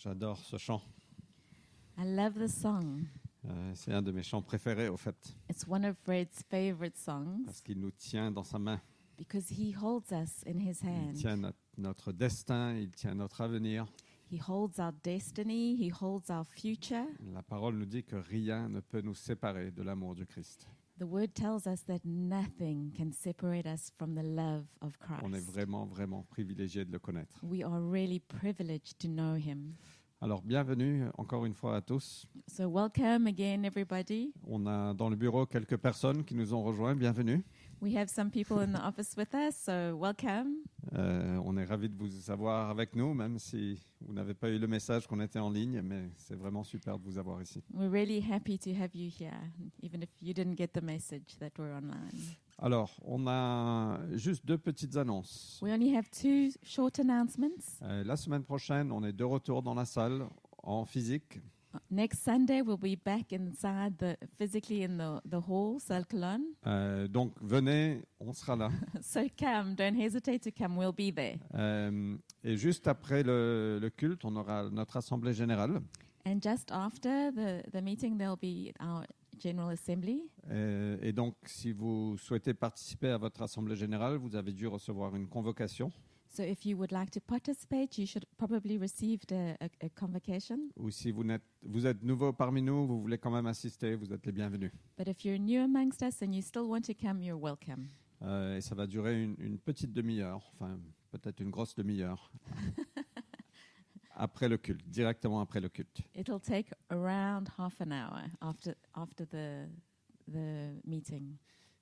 J'adore ce chant. I love the song. C'est un de mes chants préférés, au fait, It's one of Fred's favorite parce songs qu'il nous tient dans sa main. because he holds us in his Il hand. tient notre destin, il tient notre avenir. He holds our destiny, he holds our future. La parole nous dit que rien ne peut nous séparer de l'amour du Christ. The word tells us that nothing can separate us from the love of On est Christ. vraiment, vraiment privilégiés de le connaître. We are really privileged to know him. Alors, bienvenue encore une fois à tous. So welcome again, everybody. On a dans le bureau quelques personnes qui nous ont rejoints. Bienvenue. We have some people in the office with us, so welcome. On est ravis de vous avoir avec nous, même si vous n'avez pas eu le message qu'on était en ligne, mais c'est vraiment super de vous avoir ici. We're really happy to have you here, even if you didn't get the message that we're online. Alors, on a juste deux petites annonces. We only have two short announcements. La semaine prochaine, on est de retour dans la salle en physique. Next Sunday, we'll be back inside physically in the hall, Salle Cologne. Donc, venez, on sera là. So come, don't hesitate to come, we'll be there. Et juste après le culte, on aura notre assemblée générale. And just after the meeting, there'll be our General Assembly. Et donc, si vous souhaitez participer à votre assemblée générale, vous avez dû recevoir une convocation. So if you would like to participate, you should probably received a convocation. Ou si vous êtes nouveau parmi nous, vous voulez quand même assister, vous êtes les bienvenus. But if you're new amongst us and you still want to come, you're welcome. Et ça va durer une petite demi-heure, enfin peut-être une grosse demi-heure, après le culte, directement après le culte. It'll take around half an hour after the meeting.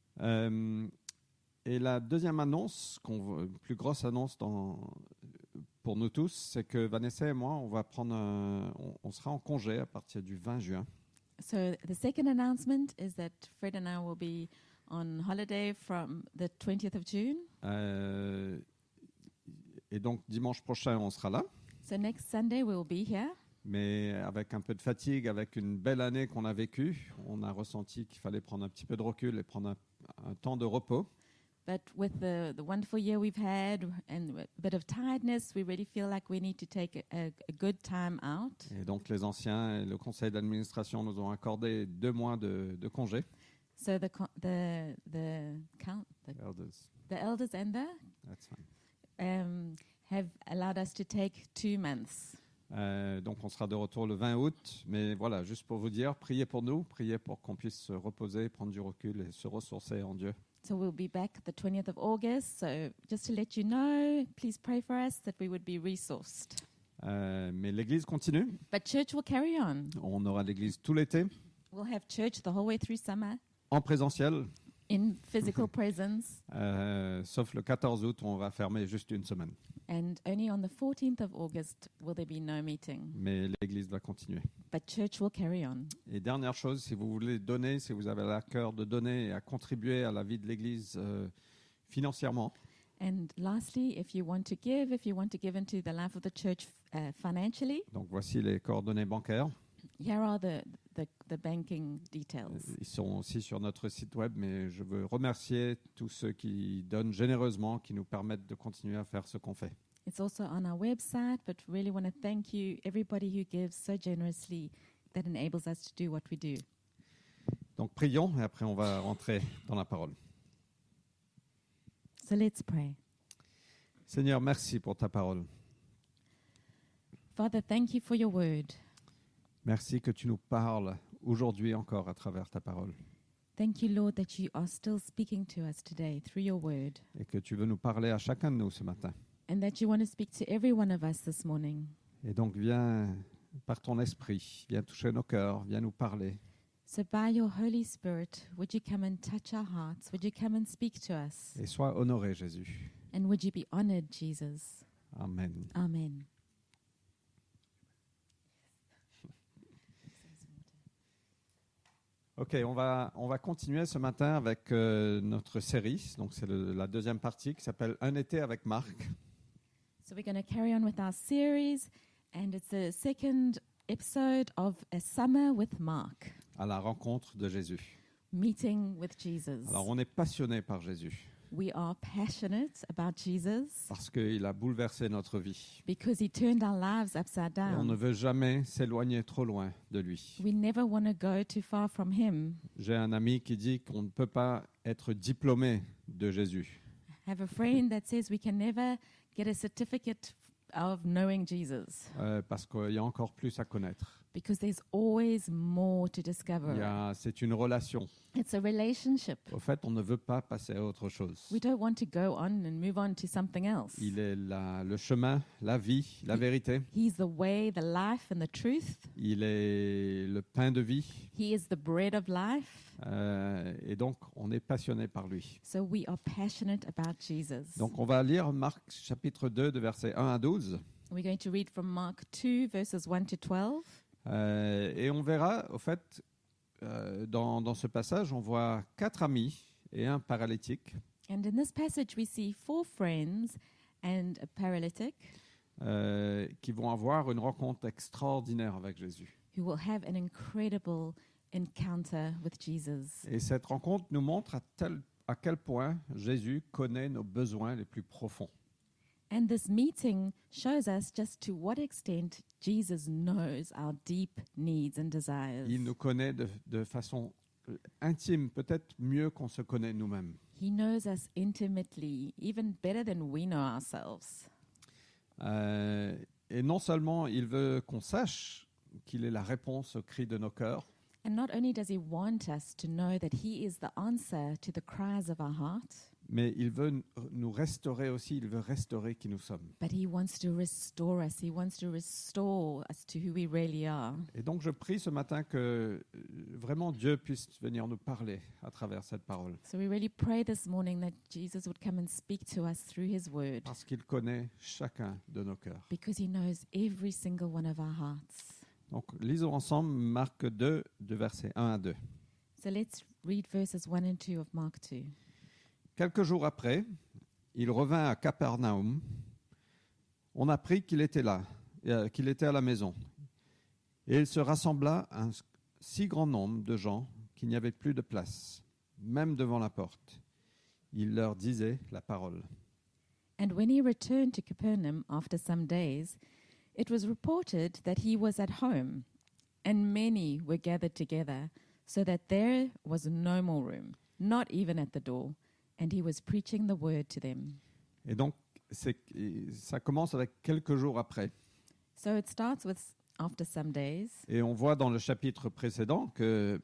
Et la deuxième annonce, plus grosse annonce pour nous tous, c'est que Vanessa et moi, on sera en congé à partir du 20 juin. So the second announcement is that Fred and I will be on holiday from the 20th of June. Et donc dimanche prochain, on sera là. So next Sunday we will be here. Mais avec un peu de fatigue, avec une belle année qu'on a vécue, on a ressenti qu'il fallait prendre un petit peu de recul et prendre un temps de repos. But with the wonderful year we've had and a bit of tiredness, we really feel like we need to take a good time out. Et donc les anciens et le conseil d'administration nous ont accordé 2 mois de congé. So the elders and That's fine. have allowed us to take 2 months. Donc on sera de retour le 20 août. Mais voilà, juste pour vous dire, priez pour nous, priez pour qu'on puisse se reposer, prendre du recul et se ressourcer en Dieu. So we'll be back the 20th of August. So just to let you know, please pray for us that we would be resourced. Mais l'église continue. But church will carry on. On aura l'église tout l'été, We'll have church the whole way through summer en présentiel, in physical presence. sauf le 14 août où on va fermer juste une semaine. And only on the 14th of August will there be no meeting. Mais l'église va continuer. But church will carry on. Et dernière chose, si vous voulez donner, si vous avez à cœur de donner et à contribuer à la vie de l'église financièrement, And lastly, if you want to give into the life of the church financially, donc voici les coordonnées bancaires. here are the banking details. Ils sont aussi sur notre site web, mais je veux remercier tous ceux qui donnent généreusement, qui nous permettent de continuer à faire ce qu'on fait. It's also on our website, but really want to thank you, everybody who gives so generously that enables us to do what we do. Donc prions et après on va rentrer dans la parole. So let's pray. Seigneur, merci pour ta parole. Father, thank you for your word. Merci que tu nous parles aujourd'hui encore à travers ta parole Thank you, Lord, that you are still speaking to us today through your word, et que tu veux nous parler à chacun de nous ce matin. and that you want to speak to every one of us this morning. Et donc viens par ton esprit, viens toucher nos cœurs, viens nous parler. So by your Holy Spirit, would you come and touch our hearts? Would you come and speak to us? Et sois honoré, Jésus. And would you be honored, Jesus? Amen. Amen. Ok, on va continuer ce matin avec notre série. Donc c'est la deuxième partie qui s'appelle Un été avec Marc. So we're going to carry on with our series, and it's the second episode of A Summer with Mark, À la rencontre de Jésus. meeting with Jesus. Alors on est passionné par Jésus. We are passionate about Jesus parce qu'il a bouleversé notre vie. because he turned our lives upside Et on ne down. veut jamais s'éloigner trop loin de lui. We never want to go too far from him. J'ai un ami qui dit qu'on ne peut pas être diplômé de Jésus. I have a friend that says we can never get a certificate of knowing Jesus Parce qu'il y a encore plus à connaître. because there's always more to discover. C'est une relation. It's a relationship. Au fait, on ne veut pas passer à autre chose. We don't want to go on and move on to something else. Il est le chemin, la vie, la vérité. He's the way, the life, and the truth. Il est le pain de vie. He is the bread of life. Et donc, on est passionné par lui. So we are passionate about Jesus. Donc, on va lire Marc chapitre 2, de versets 1 à 12. We're going to read from Mark 2, verses 1 to 12. Et on verra, au fait, dans ce passage, on voit 4 amis et un paralytique And in this passage, we see 4 friends and a paralytic qui vont avoir une rencontre extraordinaire avec Jésus. who will have an incredible encounter with Jesus. Et cette rencontre nous montre à quel point Jésus connaît nos besoins les plus profonds. And this meeting shows us just to what extent Jesus knows our deep needs and desires. Il nous connaît de façon intime, peut-être mieux qu'on se connaît nous-mêmes. He knows us intimately, even better than we know ourselves. Et non seulement il veut qu'on sache qu'il est la réponse au cri de nos cœurs, And not only does he want us to know that he is the answer to the cries of our heart, mais il veut nous restaurer aussi, il veut restaurer qui nous sommes. but he wants to restore us. He wants to restore us to who we really are. Et donc je prie ce matin que vraiment Dieu puisse venir nous parler à travers cette parole, So we really pray this morning that Jesus would come and speak to us through his word, parce qu'il connaît chacun de nos cœurs. because he knows every single one of our hearts. Donc lisons ensemble Marc 2, de versets 1 à 2. So let's read verses 1 and 2 of Mark 2. Quelques jours après, il revint à Capernaum. On apprit qu'il était là, qu'il était à la maison. Et il se rassembla un si grand nombre de gens qu'il n'y avait plus de place, même devant la porte. Il leur disait la parole. And when he returned to Capernaum after some days, it was reported that he was at home, and many were gathered together, so that there was no more room, not even at the door, and he was preaching the word to them. Et donc, ça commence avec quelques jours après. So it starts with after some days, Et on voit dans le chapitre précédent que,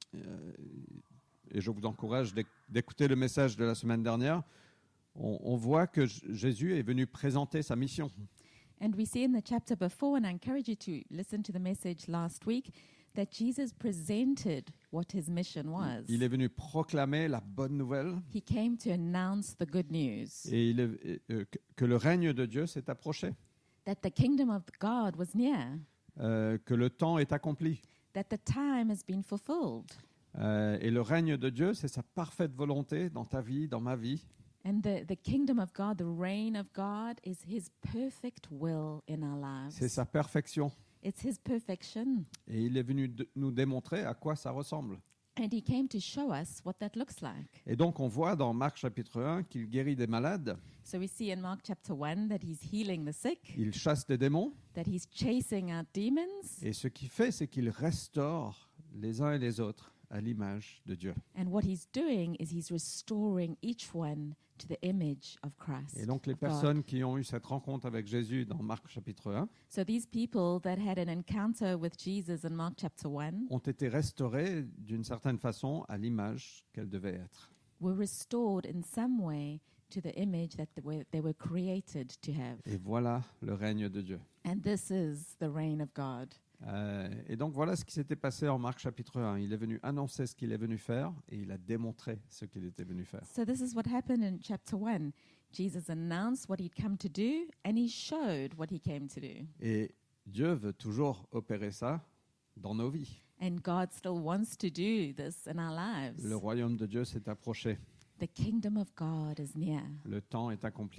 et je vous encourage d'écouter le message de la semaine dernière, on voit que Jésus est venu présenter sa mission. and we see in the chapter before, and I encourage you to listen to the message last week, that Jesus presented what his mission was. Il est venu proclamer la bonne nouvelle He came to announce the good news, et que le règne de Dieu s'est approché, that the kingdom of God was near, que le temps est accompli. that the time has been fulfilled. Et le règne de Dieu, c'est sa parfaite volonté dans ta vie, dans ma vie. And the kingdom of God, the reign of God, is his perfect will in our lives. C'est sa perfection. It's his perfection. Et il est venu nous démontrer à quoi ça ressemble. And he came to show us what that looks like. Et donc, on voit dans Marc chapitre 1 qu'il guérit des malades, So we see in Mark chapter 1 that he's healing the sick, il chasse des démons. that he's chasing out demons. Et ce qu'il fait, c'est qu'il restaure les uns et les autres à l'image de Dieu. And what he's doing is he's restoring each one to the image of Christ. Et donc, les of God. personnes qui ont eu cette rencontre avec Jésus dans Marc chapitre 1 So these people that had an encounter with Jesus in Mark chapter 1 ont été restaurées d'une certaine façon à l'image qu'elles devaient être. were restored in some way to the image that they were created to have. Et voilà le règne de Dieu. And this is the reign of God. Et donc voilà ce qui s'était passé en Marc chapitre 1. Il est venu annoncer ce qu'il est venu faire et il a démontré ce qu'il était venu faire. So this is what happened in chapter 1. Jesus announced what he'd come to do, and he showed what he came to do. Et Dieu veut toujours opérer ça dans nos vies. And God still wants to do this in our lives. Le royaume de Dieu s'est approché. The kingdom of God is near. Le temps est accompli.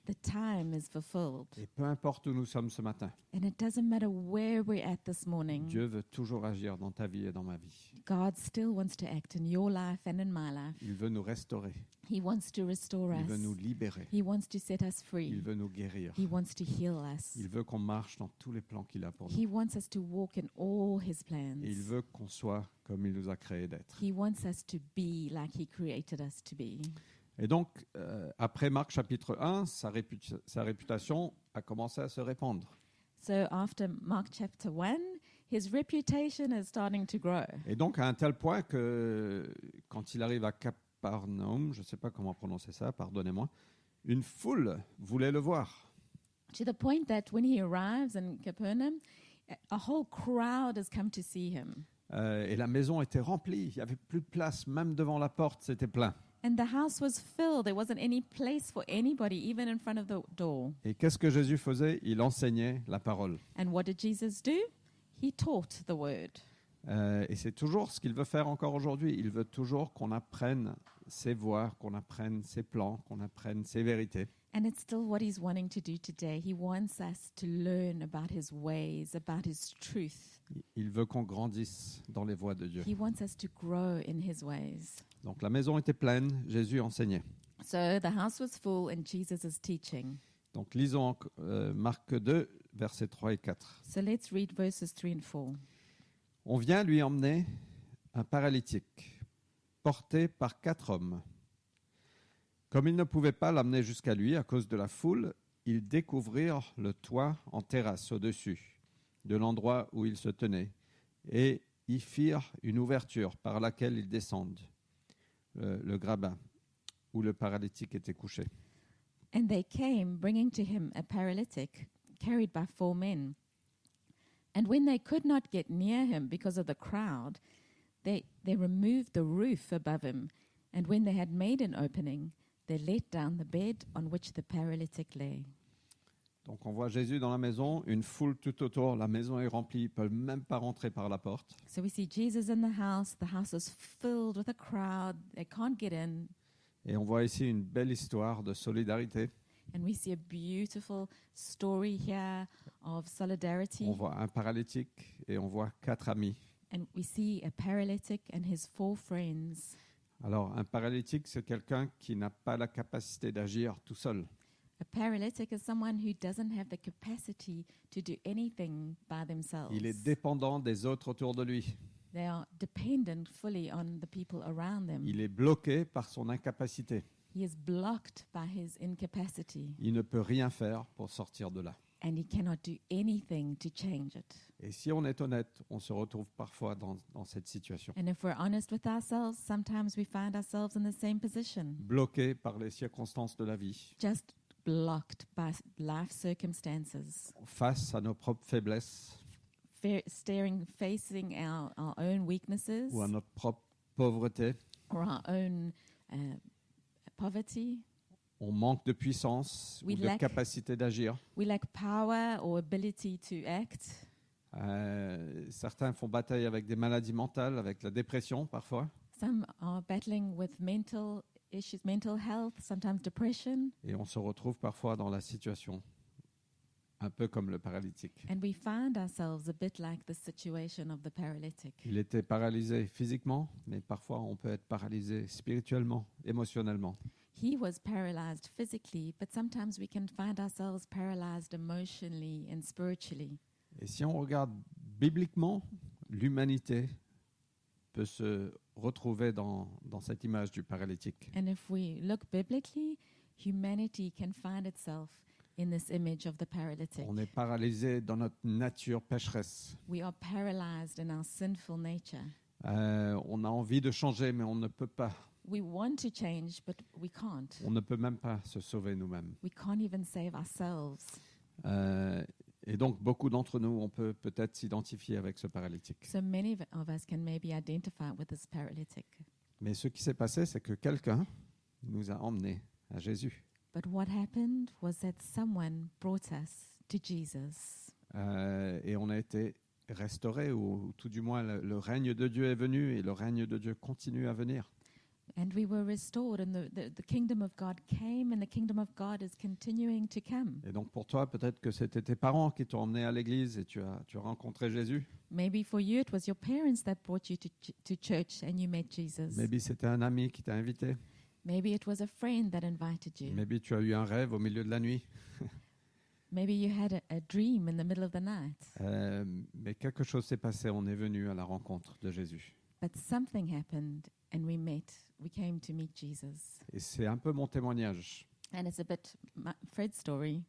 The time is fulfilled. Et peu importe où nous sommes ce matin, And it doesn't matter where we're at this morning. Dieu veut toujours agir dans ta vie et dans ma vie. God still wants to act in your life and in my life. Il veut nous restaurer. He wants to restore Il us. veut nous libérer. He wants to set us Il free. veut nous guérir. He wants to heal us. Il veut qu'on marche dans tous les plans qu'il a pour nous. He wants us to walk in all His plans. Et il veut qu'on soit comme il nous a créés d'être. He wants us to be like He created us to be. Et donc, après Marc chapitre 1, sa réputation a commencé à se répandre. So after Mark chapter 1, his reputation is starting to grow. Et donc, à un tel point que quand il arrive à Capernaum, je ne sais pas comment prononcer ça, pardonnez-moi, une foule voulait le voir. To the point that when he arrives in Capernaum, a whole crowd has come to see him. Et la maison était remplie, il n'y avait plus de place, même devant la porte, c'était plein. And the house was filled. There wasn't any place for anybody, even in front of the door. Et qu'est-ce que Jésus faisait? Il enseignait la parole. And what did Jesus do? He taught the word. Et c'est toujours ce qu'il veut faire encore aujourd'hui. Il veut toujours qu'on apprenne ses voies, qu'on apprenne ses plans, qu'on apprenne ses vérités. And it's still what he's wanting to do today. He wants us to learn about his ways, about his truth. Il veut qu'on grandisse dans les voies de Dieu. He wants us to grow in his ways. Donc la maison était pleine, Jésus enseignait. So the house was full and Jesus is teaching. Donc lisons Marc 2, versets 3 et 4. So let's read verses 3 and 4. On vient lui emmener un paralytique, porté par 4 hommes. Comme ils ne pouvaient pas l'amener jusqu'à lui à cause de la foule, ils découvrirent le toit en terrasse au-dessus de l'endroit où il se tenait et y firent une ouverture par laquelle ils descendent le grabat où le paralytique était couché. And they came, bringing to him a paralytic, carried by 4 men. And when they could not get near him because of the crowd, they removed the roof above him. And when they had made an opening, they let down the bed on which the paralytic lay. Donc on voit Jésus dans la maison, une foule tout autour, la maison est remplie, ils ne peuvent même pas rentrer par la porte. So we see Jesus in the house is filled with a crowd, they can't get in. Et on voit ici une belle histoire de solidarité. And we see a beautiful story here of solidarity. On voit un paralytique et on voit 4 amis. And we see a paralytic and his 4 friends. Alors un paralytique, c'est quelqu'un qui n'a pas la capacité d'agir tout seul. A paralytic is someone who doesn't have the capacity to do anything by themselves. Il est dépendant des autres autour de lui. They are dependent fully on the people around them. Il est bloqué par son incapacité. He is blocked by his incapacity, Il ne peut rien faire pour sortir de là. and he cannot do anything to change it. Et si on est honnête, on se retrouve parfois dans cette situation. And if we're honest with ourselves, sometimes we find ourselves in the same position, Bloqué par les circonstances de la vie, just blocked by life circumstances, face à nos propres faiblesses facing our own weaknesses ou à notre propre pauvreté. or our own poverty. On manque de puissance We ou de lack- capacité d'agir. We lack power or ability to act. Certains font bataille avec des maladies mentales, avec la dépression parfois. Some are battling with mental issues, mental health, sometimes depression, Et on se retrouve parfois dans la situation un peu comme le paralytique. and we find ourselves a bit like the situation of the paralytic. Il était paralysé physiquement, mais parfois on peut être paralysé spirituellement, émotionnellement. He was paralyzed physically, but sometimes we can find ourselves paralyzed emotionally and spiritually. Et si on regarde bibliquement, l'humanité peut se retrouver dans cette image du paralytique. And if we look biblically, humanity can find itself in this image of the paralytic. On est paralysé dans notre nature pécheresse. We are paralyzed in our sinful nature. On a envie de changer, mais on ne peut pas. We want to change, but we can't. On ne peut même pas se sauver nous-mêmes. We can't even save ourselves. Et donc, beaucoup d'entre nous, on peut peut-être s'identifier avec ce paralytique. So many of us can maybe identify with this paralytic. Mais ce qui s'est passé, c'est que quelqu'un nous a emmenés à Jésus. But what happened was that someone brought us to Jesus. Et on a été restaurés, ou tout du moins le règne de Dieu est venu et le règne de Dieu continue à venir. And we were restored, and the kingdom of God came, and the kingdom of God is continuing to come. Et donc pour toi, peut-être que c'était tes parents qui t'ont emmené à l'église et tu as rencontré Jésus. Maybe for you it was your parents that brought you to church and you met Jesus. Maybe c'était un ami qui t'a invité. Maybe it was a friend that invited you. Maybe tu as eu un rêve au milieu de la nuit. Maybe you had a dream in the middle of the night. Mais quelque chose s'est passé, on est venu à la rencontre de Jésus. But something happened and we came to meet Jesus. Et c'est un peu mon témoignage. And it's a bit Fred's story.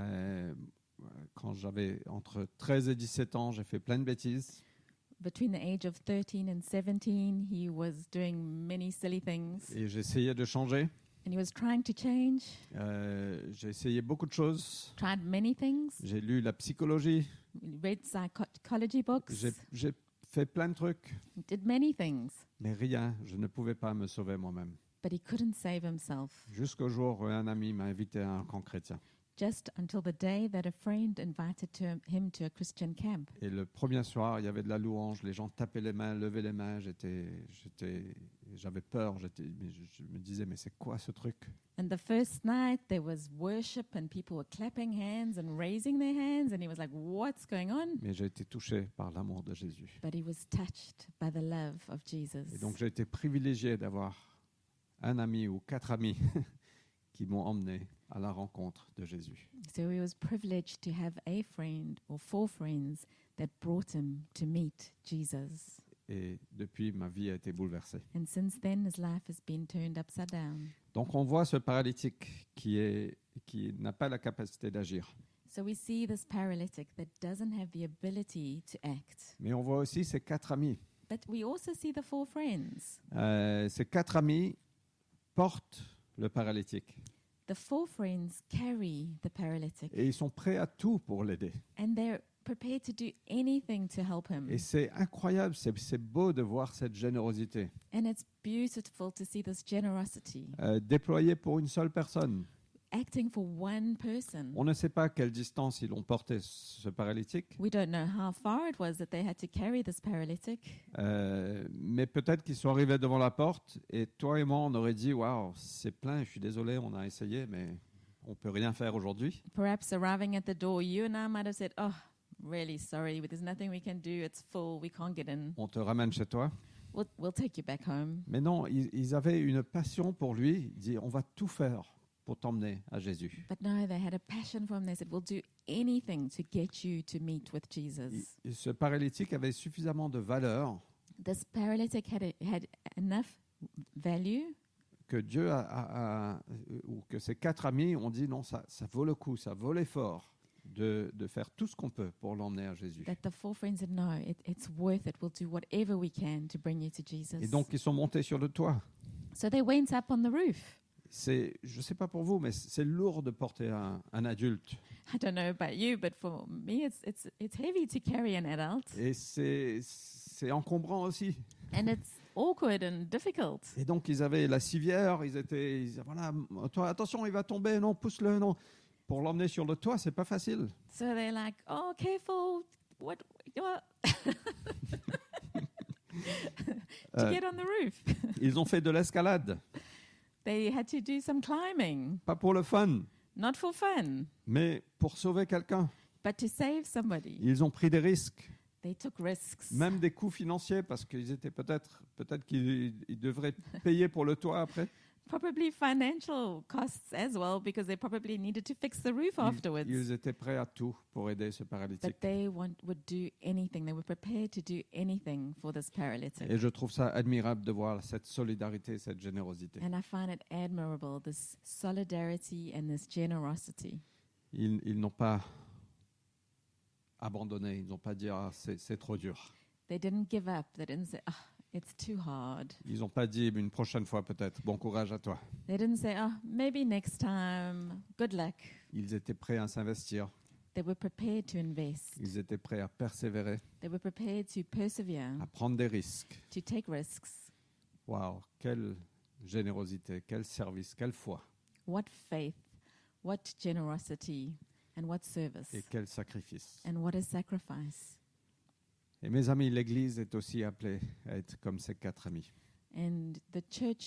Quand j'avais entre 13 et 17 ans, j'ai fait plein de bêtises. Between the age of 13 and 17, he was doing many silly things. Et j'essayais de changer. And he was trying to change. J'ai essayé beaucoup de choses. Tried many things. J'ai lu la psychologie. Read psychology books. J'ai fait plein de trucs. Did many things. Mais rien, je ne pouvais pas me sauver moi-même. But he couldn't save himself. Jusqu'au jour où un ami m'a invité à un camp chrétien. Just until the day that a friend invited him to a Christian camp. Et le premier soir, il y avait de la louange, les gens tapaient les mains, levaient les mains, j'avais peur, je me disais mais c'est quoi ce truc? And the first night there was worship and people were clapping hands and raising their hands and he was like, what's going on? Mais j'ai été touché par l'amour de Jésus. But he was touched by the love of Jesus. Et donc j'ai été privilégié d'avoir un ami ou 4 amis qui m'ont emmené à la rencontre de Jésus. So he was privileged to have a friend or 4 friends that brought him to meet Jesus. Et depuis, ma vie a été bouleversée. And since then, his life has been turned upside down. Donc on voit ce paralytique qui n'a pas la capacité d'agir. So we see this paralytic that doesn't have the ability to act. Mais on voit aussi ses 4 amis. But we also see the 4 friends. Ces 4 amis portent le paralytique. The 4 friends carry the paralytic. Et ils sont prêts à tout pour l'aider. And they're prepared to do anything to help him. Et c'est incroyable, c'est beau de voir cette générosité. And it's beautiful to see this generosity Déployée pour une seule personne. acting for one person. On ne sait pas quelle distance ils ont porté ce paralytique, We don't know how far it was that they had to carry this paralytic. mais peut-être qu'ils sont arrivés devant la porte et toi et moi on aurait dit waouh, c'est plein, je suis désolé, on a essayé mais on peut rien faire aujourd'hui. Perhaps arriving at the door, you and I might have said, oh, really sorry, but there's nothing we can do, it's full, we can't get in. On te ramène chez toi. We'll take you back home. Mais non, ils avaient une passion pour lui, ils disaient on va tout faire pour t'emmener à Jésus. But no, they had a passion for him. They said, we'll do anything to get you to meet with Jesus. Ce paralytique avait suffisamment de valeur This paralytic had enough value que Dieu ou que ses 4 amis ont dit non, ça vaut le coup, ça vaut l'effort de faire tout ce qu'on peut pour l'emmener à Jésus. that the 4 friends said, no, it's worth it. We'll do whatever we can to bring you to Jesus. Et donc ils sont montés sur le toit. So they went up on the roof. Je ne sais pas pour vous, mais c'est lourd de porter un adulte. I don't know about you, but for me, it's heavy to carry an adult. Et c'est encombrant aussi. And it's awkward and difficult. Et donc ils avaient la civière, ils disaient, voilà, toi, attention, il va tomber, non, pousse-le, non. Pour l'emmener sur le toit, c'est pas facile. So they're like, oh, careful. What? To get on the roof. Ils ont fait de l'escalade, They had to do some climbing, pas pour le fun, not for fun, mais pour sauver quelqu'un. but to save somebody. Ils ont pris des risques, They took risks, même des coûts financiers, parce qu'ils étaient peut-être qu'ils devraient payer pour le toit après. probably financial costs as well, because they probably needed to fix the roof afterwards. Ils étaient prêts à tout pour aider ce paralytique. But they would do anything. They were prepared to do anything for this paralytic. Et je trouve ça admirable de voir cette solidarité, cette générosité. And I find it admirable, this solidarity and this generosity. Ils n'ont pas abandonné, ils n'ont pas dit ah, c'est trop dur. They didn't give up. They didn't say, oh, it's too hard. Ils n'ont pas dit une prochaine fois peut-être, bon courage à toi. They didn't say, oh, maybe next time, good luck. Ils étaient prêts à s'investir, They were prepared to invest. ils étaient prêts à persévérer, They were prepared to persevere, à prendre des risques. to take risks. Waouh, quelle générosité, quel service, quelle foi What faith, what generosity, and what service, et quel sacrifice. and what a sacrifice. Et mes amis, l'Église est aussi appelée à être comme ces 4 amis. And the church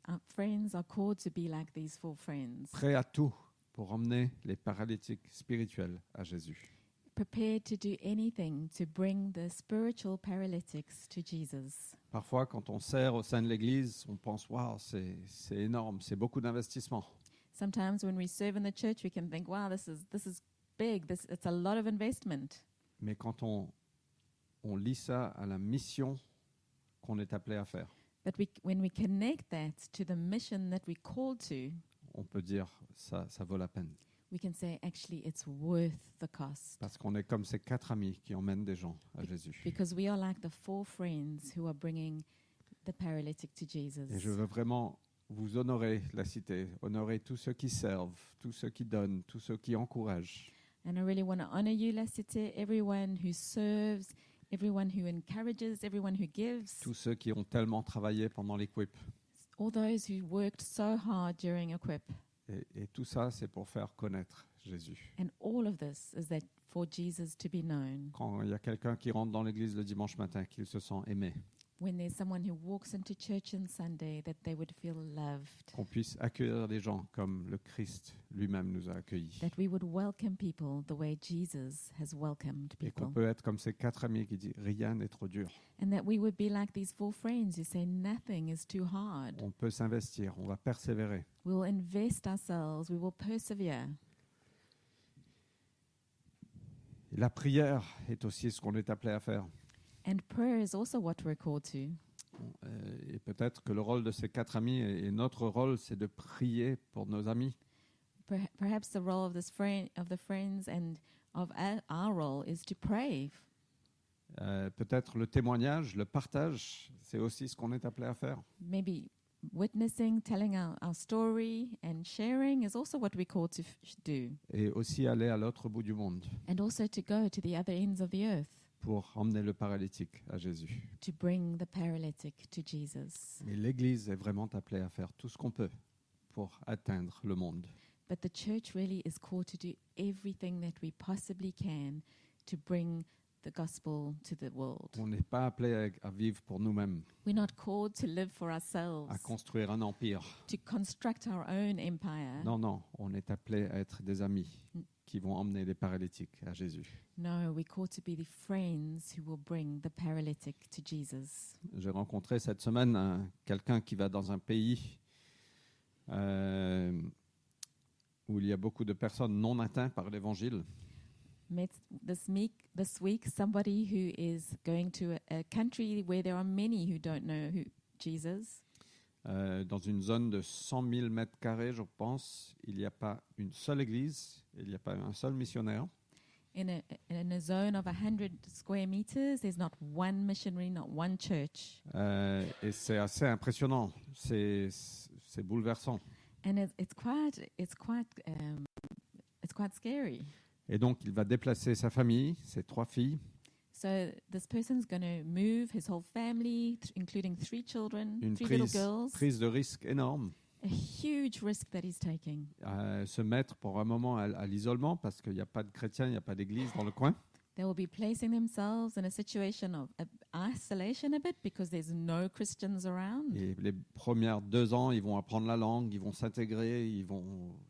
our friends are called to be like these 4 friends, prêts à tout pour emmener les paralytiques spirituels à Jésus. prepared to do anything to bring the spiritual paralytics to Jesus. Parfois, quand on sert au sein de l'Église, on pense « Waouh, c'est énorme, c'est beaucoup d'investissement. Sometimes when we serve in the church, we can think, wow, this is big, it's a lot of investment. » Mais quand on lit ça à la mission qu'on est appelé à faire, But when we connect that to the mission that we're called to, on peut dire ça vaut la peine. we can say, actually, it's worth the cost. Parce qu'on est comme ces 4 amis qui emmènent des gens à Jésus. Because we are like the 4 friends who are bringing the paralytic to Jesus. Et je veux vraiment vous honorer la cité, honorer tous ceux qui servent, tous ceux qui donnent, tous ceux qui encouragent. And I really want to honor you, La Cité, everyone who serves, everyone who encourages, everyone who gives, Tous ceux qui ont tellement travaillé pendant l'Equip. all those who worked so hard during Equip. Et tout ça, c'est pour faire connaître Jésus. And all of this is that for Jesus to be known. Quand il y a quelqu'un qui rentre dans l'église le dimanche matin, qu'il se sent aimé, When there's someone who walks into church on Sunday, that they would feel loved, qu'on puisse accueillir les gens comme le Christ lui-même nous a accueillis. that we would welcome people the way Jesus has welcomed Et qu'on people. peut être comme ces 4 amis qui disent « Rien n'est trop dur. And that we would be like these 4 friends who say nothing is too hard. On peut s'investir, on va persévérer. We will invest ourselves, we will persevere. » Et la prière est aussi ce qu'on est appelé à faire. And prayer is also what we're called to. Et peut-être que le rôle de ces 4 amis et notre rôle, c'est de prier pour nos amis. Perhaps the role of the friends and of our role is to pray. Peut-être le témoignage, le partage, c'est aussi ce qu'on est appelé à faire. Maybe witnessing, telling our story and sharing is also what we're called to do. Et aussi aller à l'autre bout du monde And also to go to the other ends of the earth pour emmener le paralytique à Jésus. to bring the paralytic to Jesus. Et l'Église est vraiment appelée à faire tout ce qu'on peut pour atteindre le monde. But the church really is called to do everything that we possibly can to bring the gospel to the world. On n'est pas appelé à vivre pour nous-mêmes, We're not called to live for ourselves, à construire un empire. to construct our own empire. Non, non, on est appelé à être des amis qui vont emmener les paralytiques à Jésus. No, we're called to be the friends who will bring the paralytic to Jesus. J'ai rencontré cette semaine quelqu'un qui va dans un pays où il y a beaucoup de personnes non atteintes par l'Évangile. Met this week somebody who is going to a country where there are many who don't know Jesus. Dans une zone de 100 000 mètres carrés, je pense, il n'y a pas une seule église, il n'y a pas un seul missionnaire. In a zone of 100 square meters, there's not one missionary, not one church. Et c'est assez impressionnant, c'est bouleversant. And it's quite scary. Et donc, il va déplacer sa famille, ses 3 filles, So this person's going to move his whole family, including 3 children, une 3 little girls. prise de risque énorme, A huge risk that he's taking. se mettre pour un moment à l'isolement parce qu'il n'y a pas de chrétiens, il n'y a pas d'église dans le coin. They will be placing themselves in a situation of isolation a bit because there's no Christians around. Et les premières 2 ans, ils vont apprendre la langue, ils vont s'intégrer, ils vont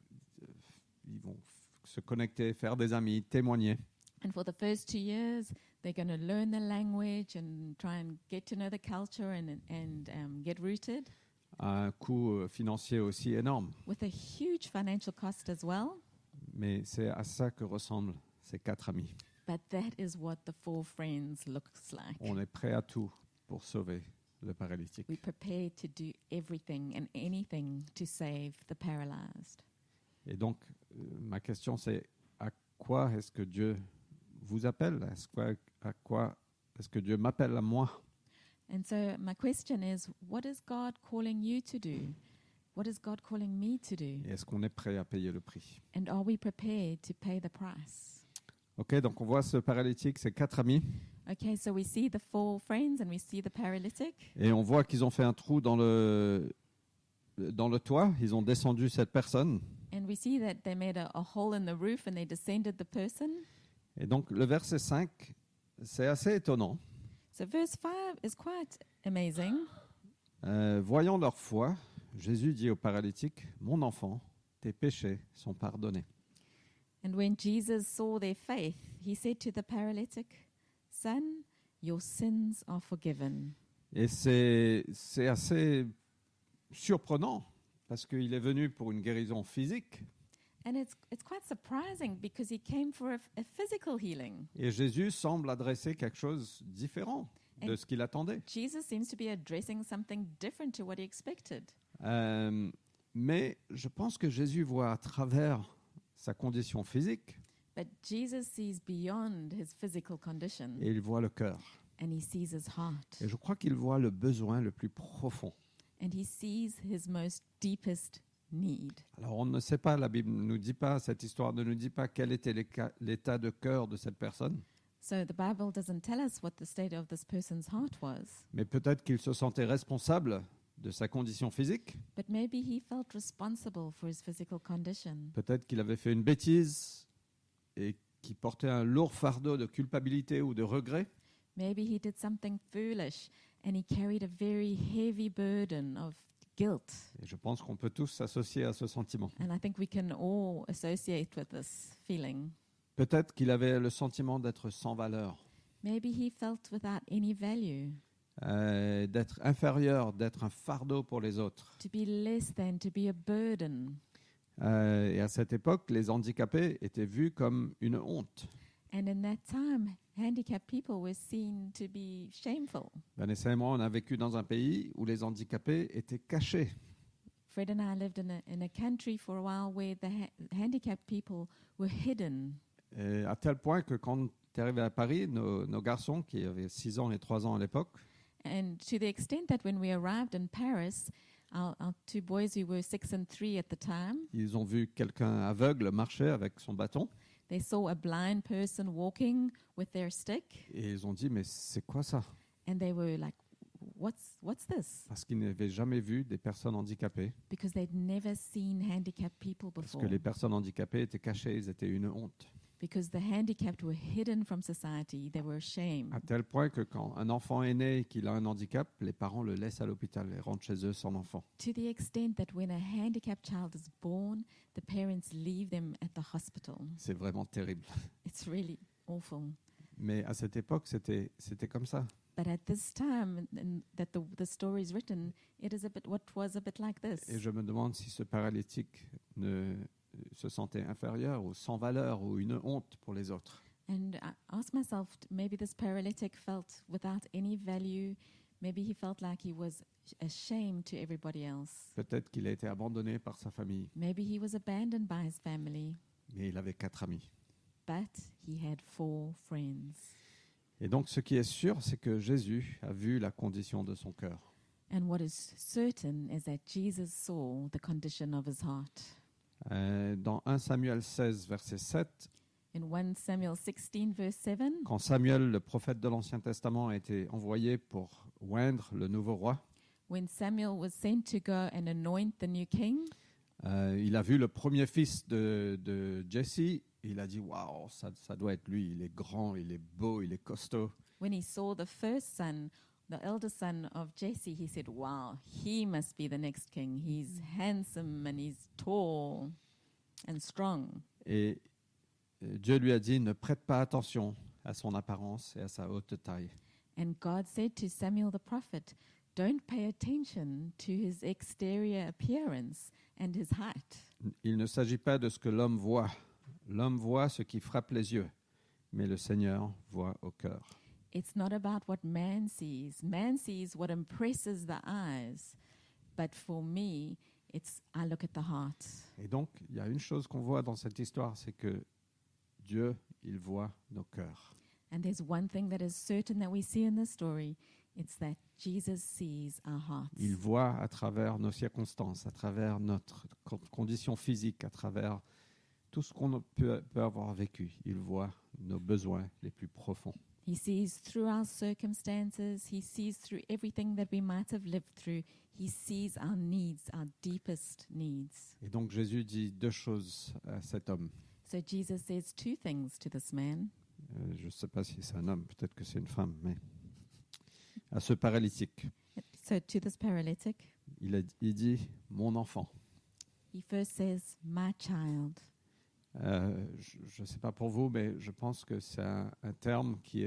se connecter, faire des amis, témoigner. And for the first 2 years, they're going to learn the language and try and get to know the culture and get rooted, À un coût financier aussi énorme. with a huge financial cost as well. Mais c'est à ça que ressemblent ces 4 amis. But that is what the 4 friends looks like. On est prêt à tout pour sauver le paralytique. We're prepared to do everything and anything to save the paralyzed. Et donc, ma question c'est, à quoi est-ce que Dieu vous appelle? À quoi est-ce que Dieu m'appelle à moi? And so my question is, what is God calling you to do? What is God calling me to do? Et est-ce qu'on est prêt à payer le prix? And are we prepared to pay the price? Ok, donc on voit ce paralytique, ces 4 amis, Okay, so we see the 4 friends and we see the paralytic. et on voit qu'ils ont fait un trou dans le toit, ils ont descendu cette personne. And we see that they made a hole in the roof and they descended the person. Et donc le verset 5, c'est assez étonnant. So verse 5 is quite amazing. Voyant leur foi, Jésus dit au paralytique, « Mon enfant, tes péchés sont pardonnés. » And when Jesus saw their faith, he said to the paralytic, "Son, your sins are forgiven." Et c'est assez surprenant parce qu'il est venu pour une guérison physique And it's quite surprising because he came for a physical healing. et Jésus semble adresser quelque chose de différent de ce qu'il attendait. Jesus seems to be addressing something different to what he expected. Mais je pense que Jésus voit à travers sa condition physique But Jesus sees beyond his physical condition et il voit le cœur. and he sees his heart. Et je crois qu'il voit le besoin le plus profond. And he sees his most deepest need. Alors on ne sait pas, la Bible ne nous dit pas, cette histoire ne nous dit pas quel était l'état de cœur de cette personne, So the Bible doesn't tell us what the state of this person's heart was, mais peut-être qu'il se sentait responsable de sa condition physique, but maybe he felt responsible for his physical condition. peut-être qu'il avait fait une bêtise et qu'il portait un lourd fardeau de culpabilité ou de regret, Maybe he did something foolish and he carried a very heavy burden of guilt. et je pense qu'on peut tous s'associer à ce sentiment. And I think we can all associate with this feeling. Peut-être qu'il avait le sentiment d'être sans valeur, Maybe he felt without any value, d'être inférieur, d'être un fardeau pour les autres. to be less than, to be a burden. Et à cette époque, les handicapés étaient vus comme une honte. And in that time, handicapped people were seen to be shameful. Vanessa et moi, on a vécu dans un pays où les handicapés étaient cachés. Fred and I lived in a country for a while where the handicapped people were hidden. Et à tel point que quand tu es arrivé à Paris, nos garçons, qui avaient 6 ans et 3 ans à l'époque, And to the extent that when we arrived in Paris, our two boys who were 6 and 3 at the time, ils ont vu quelqu'un aveugle marcher avec son bâton. they saw a blind person walking with their stick, Et ils ont dit, mais c'est quoi ça? and they were like, what's this? Parce qu'ils n'avaient jamais vu des personnes handicapées. Because they'd never seen handicapped people Parce before. que les personnes handicapées étaient cachées, ils étaient une honte. Because the handicapped were hidden from society, they were ashamed. À tel point que quand un enfant est né et qu'il a un handicap, les parents le laissent à l'hôpital et rentrent chez eux sans enfant. To the extent that when a handicapped child is born, the parents leave them at the hospital. C'est vraiment terrible. It's really awful. Mais à cette époque, c'était comme ça. But at this time that the story is written, it is what was a bit like this. Et je me demande si ce paralytique ne se sentait inférieur ou sans valeur ou une honte pour les autres. And I asked myself, maybe this paralytic felt without any value. Maybe he felt like he was ashamed to everybody else. Peut-être qu'il a été abandonné par sa famille, Maybe he was abandoned by his family, mais il avait 4 amis. but he had 4 friends. Et donc ce qui est sûr, c'est que Jésus a vu la condition de son cœur. And what is certain is that Jesus saw the condition of his heart. Dans 1 Samuel 16, verset 7, In 1 Samuel 16, verse 7, quand Samuel, le prophète de l'Ancien Testament, a été envoyé pour oindre le nouveau roi, when Samuel was sent to go and anoint the new king, il a vu le premier fils de Jesse. Il a dit, waouh, ça doit être lui. Il est grand, il est beau, il est costaud. when he saw the first son, the elder son of Jesse, he said, wow, he must be the next king. He's handsome and he's tall and strong. Et Dieu lui a dit, ne prête pas attention à son apparence et à sa haute taille. And God said to Samuel the prophet, don't pay attention to his exterior appearance and his height. Il ne s'agit pas de ce que l'homme voit. L'homme voit ce qui frappe les yeux, mais le Seigneur voit au cœur. It's not about what man sees. Man sees what impresses the eyes. But for me, I look at the heart. Et donc, il y a une chose qu'on voit dans cette histoire, c'est que Dieu, il voit nos cœurs. And there's one thing that is certain that we see in this story. It's that Jesus sees our hearts. Il voit à travers nos circonstances, à travers notre condition physique, à travers tout ce qu'on peut avoir vécu. Il voit nos besoins les plus profonds. He sees through our circumstances. He sees through everything that we might have lived through. He sees our needs, our deepest needs. Et donc Jésus dit 2 choses à cet homme. So Jesus says 2 things to this man. Je ne sais pas si c'est un homme, peut-être que c'est une femme, mais à ce paralytique. So to this paralytic, il dit « mon enfant He first says, my child. ». Je ne sais pas pour vous, mais je pense que c'est un terme qui est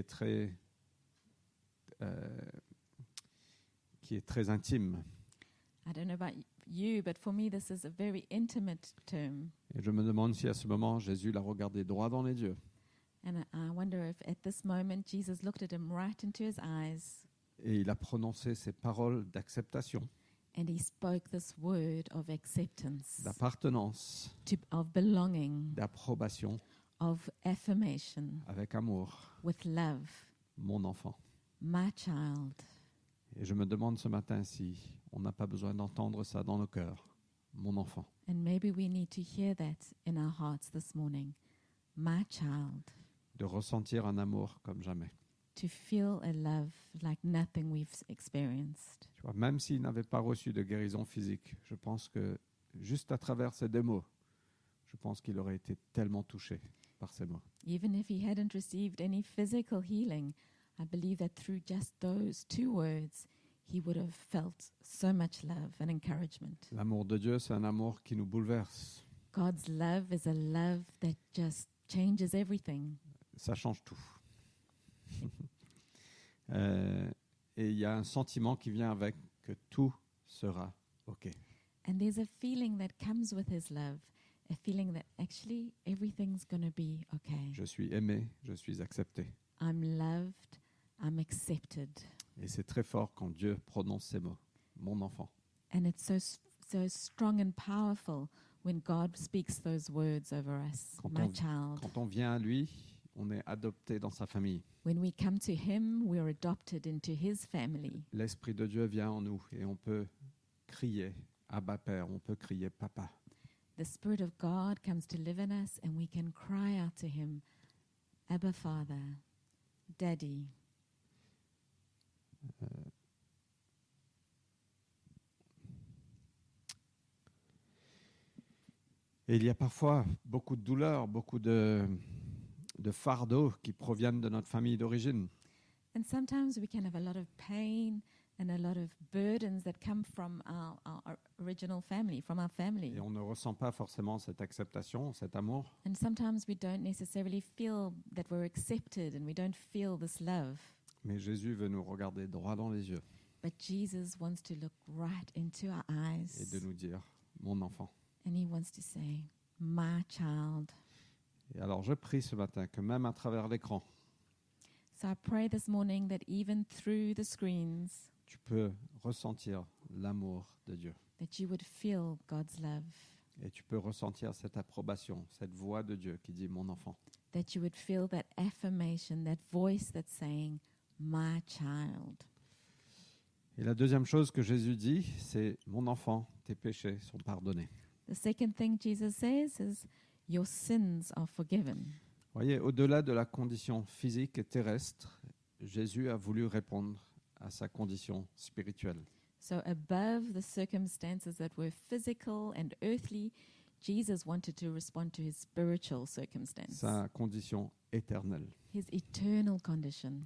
très intime. I don't know about you, but for me, this is a very intimate term. Et je me demande si à ce moment, Jésus l'a regardé droit dans les yeux And I wonder if at this moment, Jesus looked at him right into his eyes et il a prononcé ces paroles d'acceptation, and he spoke this word of acceptance, d'appartenance, of belonging, d'approbation, of affirmation, avec amour, with love. mon enfant. My child. Et je me demande ce matin si on n'a pas besoin d'entendre ça dans nos cœurs, mon enfant. And maybe we need to hear that in our hearts this morning. My child. De ressentir un amour comme jamais. To feel a love like nothing we've experienced. Tu vois, même s'il n'avait pas reçu de guérison physique, je pense que juste à travers ces deux mots, je pense qu'il aurait été tellement touché par ces mots. Even if he hadn't received any physical healing, I believe that through just those two words, he would have felt so much love and encouragement. L'amour de Dieu, c'est un amour qui nous bouleverse. God's love is a love that just changes everything. Ça change tout. Et il y a un sentiment qui vient avec que tout sera OK. And there's a feeling that comes with his love, a feeling that actually everything's going to be okay. Je suis aimé, je suis accepté. I'm loved, I'm accepted. Et c'est très fort quand Dieu prononce ces mots, mon enfant. And it's so strong and powerful when God speaks those words over us, my child. Quand on vient à lui, on est adopté dans sa famille. When we come to him, we're adopted into his family. L'Esprit de Dieu vient en nous et on peut crier Abba Père, on peut crier Papa. The Spirit of God comes to live in us and we can cry out to him, Abba Father, Daddy. Et il y a parfois beaucoup de douleurs, beaucoup de fardeaux qui proviennent de notre famille d'origine. And sometimes we can have a lot of pain and a lot of burdens that come from our original family, from our family. Et on ne ressent pas forcément cette acceptation, cet amour. And sometimes we don't necessarily feel that we're accepted and we don't feel this love. Mais Jésus veut nous regarder droit dans les yeux But Jesus wants to look right into our eyes. et de nous dire, mon enfant. And he wants to say, my child. Et alors je prie ce matin que même à travers l'écran, So I pray this morning that even through the screens, tu peux ressentir l'amour de Dieu. that you would feel God's love, Et tu peux ressentir cette approbation, cette voix de Dieu qui dit, mon enfant. that you would feel that affirmation, that voice that's saying, my child. Et la deuxième chose que Jésus dit, c'est, mon enfant, tes péchés sont pardonnés. The second thing Jesus says is, your sins are forgiven. Voyez, au-delà de la condition physique et terrestre, Jésus a voulu répondre à sa condition spirituelle. So above the circumstances that were physical and earthly, Jesus wanted to respond to his spiritual circumstance, Sa condition éternelle. his eternal condition.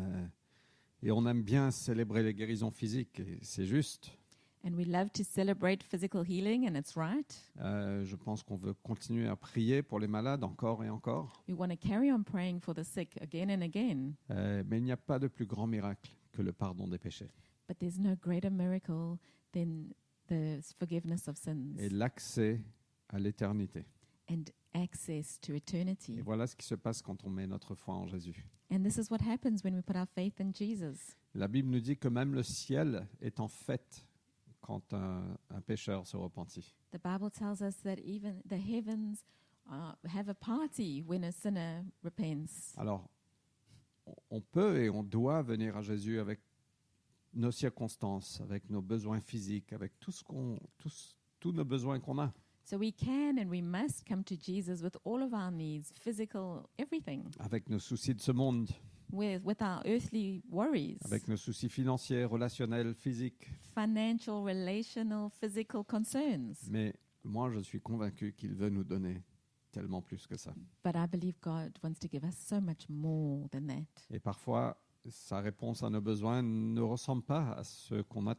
Et on aime bien célébrer les guérisons physiques, et c'est juste. And we love to celebrate physical healing, and it's right. Je pense qu'on veut continuer à prier pour les malades encore et encore. We want to carry on praying for the sick again and again. Mais il n'y a pas de plus grand miracle que le pardon des péchés. But there's no greater miracle than the forgiveness of sins Et l'accès à l'éternité. and access to Et eternity. voilà ce qui se passe quand on met notre foi en Jésus. And this is what happens when we put our faith in Jesus. La Bible nous dit que même le ciel est en fête quand un pécheur se repentit. The Bible tells us that even the heavens have a party when a sinner repents. Alors, on peut et on doit venir à Jésus avec nos circonstances, avec nos besoins physiques, avec tous nos besoins qu'on a, So we can and we must come to Jesus with all of our needs, physical, everything, avec nos soucis de ce monde, with our earthly worries, avec nos soucis financiers, relationnels, physiques. financial, relational, physical concerns. Mais moi, je suis convaincu qu'il veut nous donner tellement plus que ça. But I believe God wants to give us so much more than that. Et parfois, sa réponse à nos besoins ne ressemble pas à ce qu'on attend.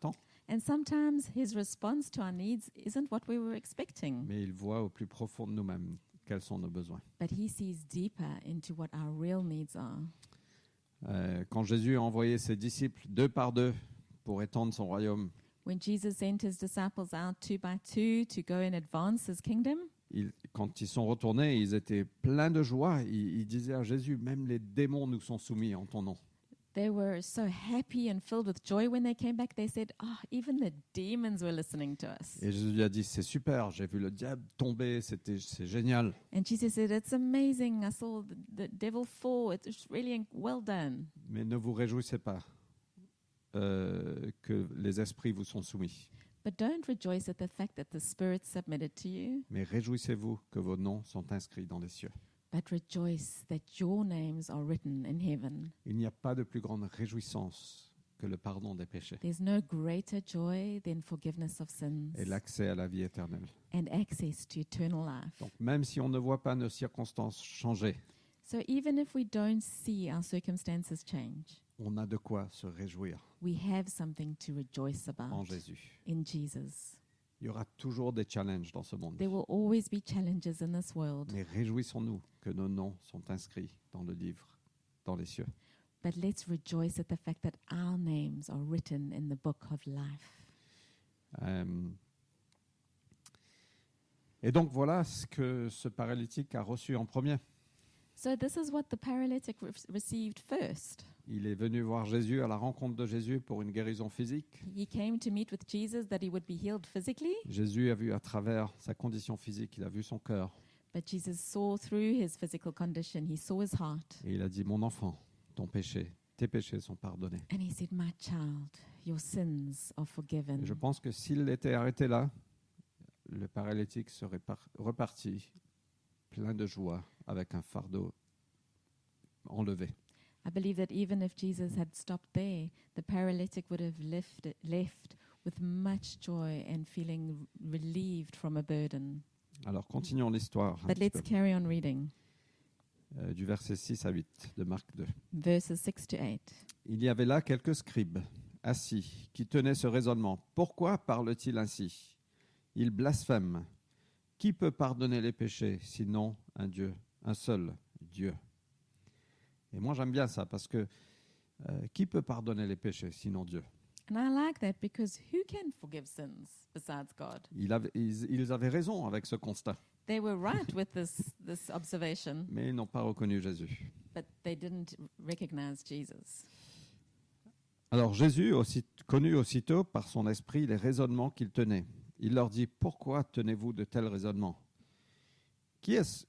And sometimes his response to our needs isn't what we were expecting, Mais il voit au plus profond de nous-mêmes quels sont nos besoins. but he sees deeper into what our real needs are. Quand Jésus a envoyé ses disciples 2 par 2 pour étendre son royaume, When Jesus sent his disciples out 2 by 2 to go and advance his kingdom, quand ils sont retournés, ils étaient pleins de joie. Ils disaient à Jésus, même les démons nous sont soumis en ton nom. they were so happy and filled with joy when they came back. They said, even the demons were listening to us. Et Jésus lui a dit, c'est super, j'ai vu le diable tomber, c'est génial. And Jesus said, it's amazing. I saw the devil fall. It's really well done. Mais ne vous réjouissez pas que les esprits vous sont soumis. But don't rejoice at the fact that the spirits submitted to you, Mais réjouissez-vous que vos noms sont inscrits dans les cieux. but rejoice that your names are written in heaven. Il n'y a pas de plus grande réjouissance que le pardon des péchés There's no greater joy than forgiveness of sins et l'accès à la vie éternelle. and access to eternal life. Donc même si on ne voit pas nos circonstances changer, So even if we don't see our circumstances change, on a de quoi se réjouir we have something to rejoice en about Jésus. in Jesus. Il y aura toujours des challenges dans ce monde. There will always be challenges in this world, Mais réjouissons-nous que nos noms sont inscrits dans le livre, dans les cieux. but let's rejoice at the fact that our names are written in the book of life. Et donc voilà ce que ce paralytique a reçu en premier. So this is what the paralytic received first. Il est venu voir Jésus à la rencontre de Jésus pour une guérison physique. He came to meet with Jesus that he would be healed physically, Jésus a vu à travers sa condition physique, il a vu son cœur. but Jesus saw through his physical condition. He saw his heart, Et il a dit, mon enfant, tes péchés sont pardonnés. and he said, "My child, your sins are forgiven." Et je pense que s'il était arrêté là, le paralytique serait reparti plein de joie avec un fardeau enlevé. I believe that even if Jesus had stopped there, the paralytic would have left with much joy and feeling relieved from a burden. Alors continuons l'histoire un But petit let's carry on reading peu, du verset 6 à 8 de Marc 2. verses 6 to 8. Il y avait là quelques scribes assis qui tenaient ce raisonnement. Pourquoi parle-t-il ainsi? Il blasphème. Qui peut pardonner les péchés sinon un Dieu, un seul Dieu? Et moi j'aime bien ça parce que qui peut pardonner les péchés sinon Dieu? And I like that because who can forgive sins besides God? Ils avaient raison avec ce constat, They were right with this observation, mais ils n'ont pas reconnu Jésus. but they didn't recognize Jesus. Alors Jésus, connu aussitôt par son esprit les raisonnements qu'il tenait. Il leur dit, pourquoi tenez-vous de tels raisonnements? Qu'est-ce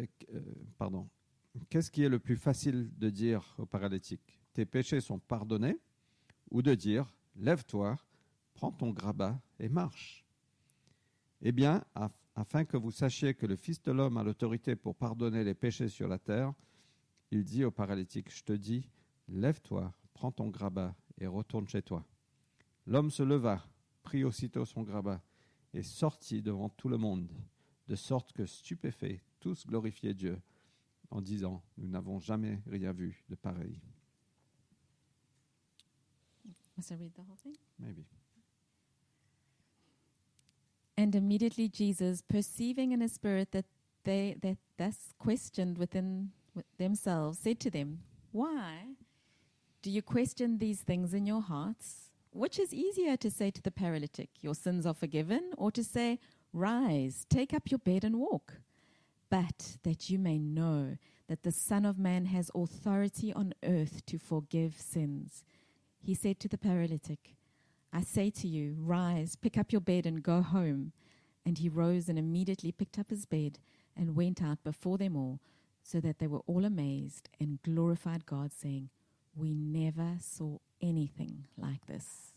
qui est le plus facile de dire au paralytique? Tes péchés sont pardonnés, ou de dire, lève-toi, prends ton grabat et marche? Eh bien, afin que vous sachiez que le Fils de l'homme a l'autorité pour pardonner les péchés sur la terre, il dit au paralytique, je te dis, lève-toi, prends ton grabat et retourne chez toi. L'homme se leva, prit aussitôt son grabat et sortit devant tout le monde, de sorte que, stupéfaits, tous glorifiaient Dieu en disant, nous n'avons jamais rien vu de pareil. Must I read the whole thing? Maybe. And immediately Jesus, perceiving in his spirit that they that thus questioned within themselves, said to them, "Why do you question these things in your hearts? Which is easier to say to the paralytic, 'Your sins are forgiven,' or to say, 'Rise, take up your bed and walk'? But that you may know that the Son of Man has authority on earth to forgive sins." He said to the paralytic, "I say to you, rise, pick up your bed and go home." And he rose and immediately picked up his bed and went out before them all, so that they were all amazed and glorified God, saying, "We never saw anything like this."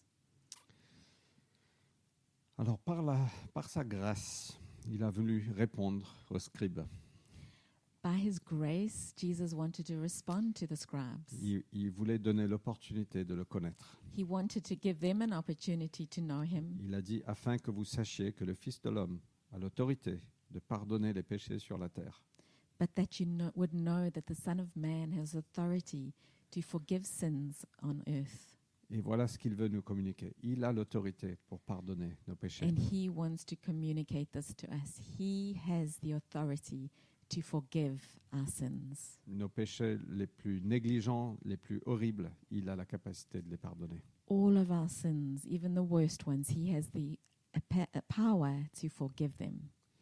Alors, par sa grâce, il a voulu répondre aux scribes. By his grace, Jesus wanted to respond to the scribes. Il voulait donner l'opportunité de le connaître. He wanted to give them an opportunity to know him. Il a dit, afin que vous sachiez que le Fils de l'homme a l'autorité de pardonner les péchés sur la terre. But that you would know that the Son of Man has authority to forgive sins on earth. Et voilà ce qu'il veut nous communiquer. Il a l'autorité pour pardonner nos péchés. And he wants to communicate this to us. He has the authority to forgive our sins. Nos péchés les plus négligents, les plus horribles, il a la capacité de les pardonner. All of our sins, even the worst ones, he has the power to forgive them.